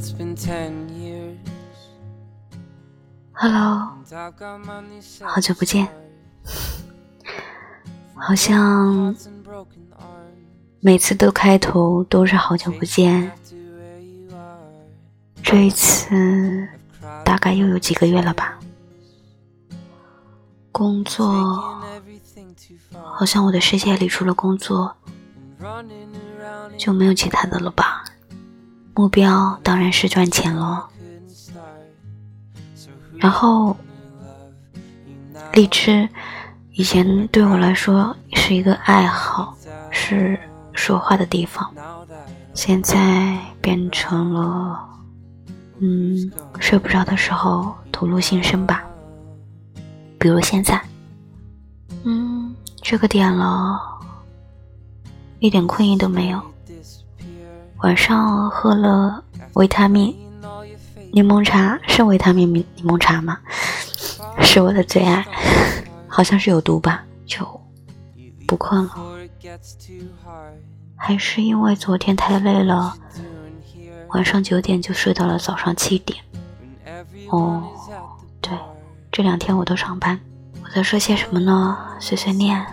Hello， 好久不见。好像每次都开头都是好久不见，这一次大概又有几个月了吧。工作，好像我的世界里除了工作就没有其他的了吧。目标当然是赚钱咯。然后荔枝以前对我来说是一个爱好，是说话的地方，现在变成了睡不着的时候吐露心声吧。比如现在这个点了，一点困意都没有。晚上喝了维他命柠檬茶，是维他命柠檬茶吗？是我的最爱，好像是有毒吧，就不困了。还是因为昨天太累了，晚上9点就睡到了早上7点。对，这2天我都上班。我在说些什么呢？碎碎念。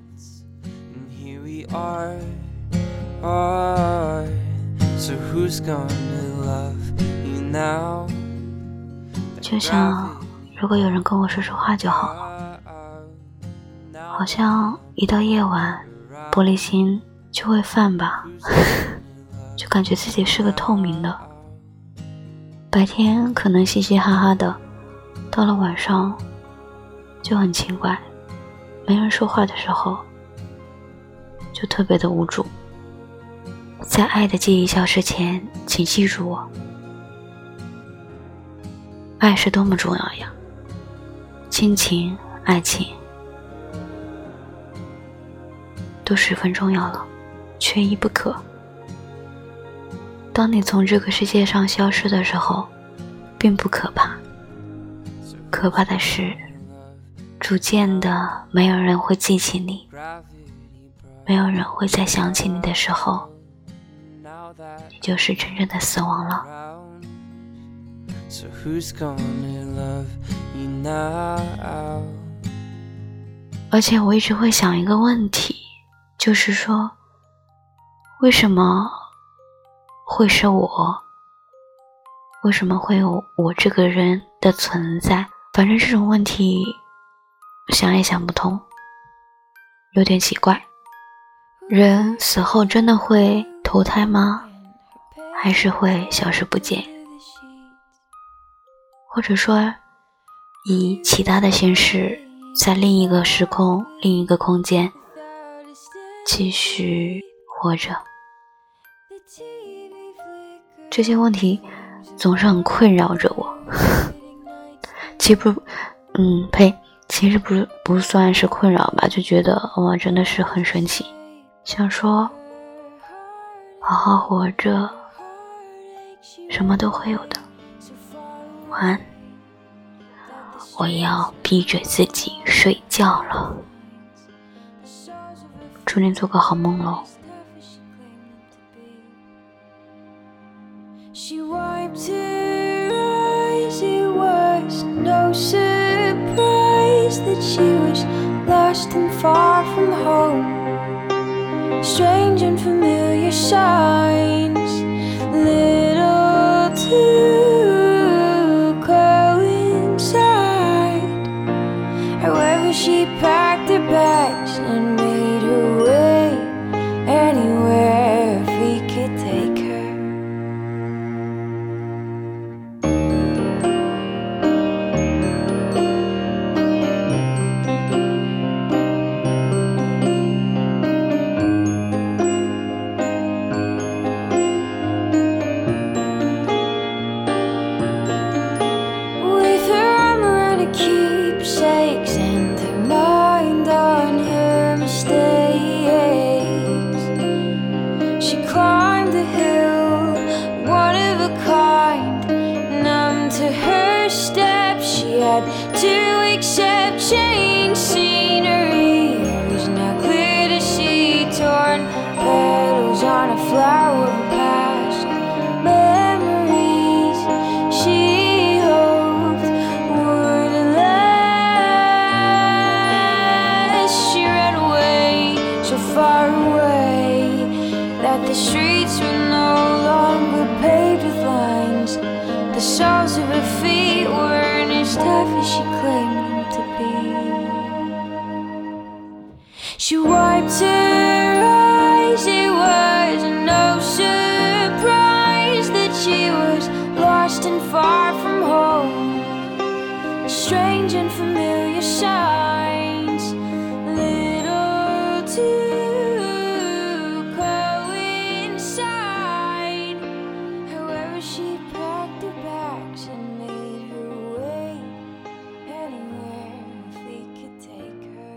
就想如果有人跟我说说话就好了。好像一到夜晚玻璃心就会泛吧，就感觉自己是个透明的。白天可能嘻嘻哈哈的，到了晚上就很奇怪，没人说话的时候就特别的无助。在爱的记忆消失前，请记住我，爱是多么重要呀，亲情、爱情都十分重要了，缺一不可。当你从这个世界上消失的时候，并不可怕，可怕的是逐渐的没有人会记起你，没有人会再想起你的时候，你就是真正的死亡了。而且我一直会想一个问题，就是说为什么会是我，为什么会有我这个人的存在？反正这种问题想也想不通，有点奇怪。人死后真的会投胎吗？还是会消失不见？或者说以其他的形式在另一个时空、另一个空间继续活着？这些问题总是很困扰着我。其实不算是困扰吧，就觉得哇，真的是很神奇。想说好好活着，什么都会有的。晚安，我要闭嘴自己睡觉了，祝你做个好梦咯。She wiped her eyes, it was no surprise that she was lost and far from home. Strange and familiar signs, little to coincide. However, she packed her bags and made her way anywhere if we could take her. With her armor and her keepsakes and her mind The streets were no longer paved with lines. The soles of her feet weren't as tough as she claimed them to be. She wiped her eyes, it was no surprise that she was lost and far from home. Strange and familiar signs, little to coincide. However, she packed her bags and made her way anywhere we could take her.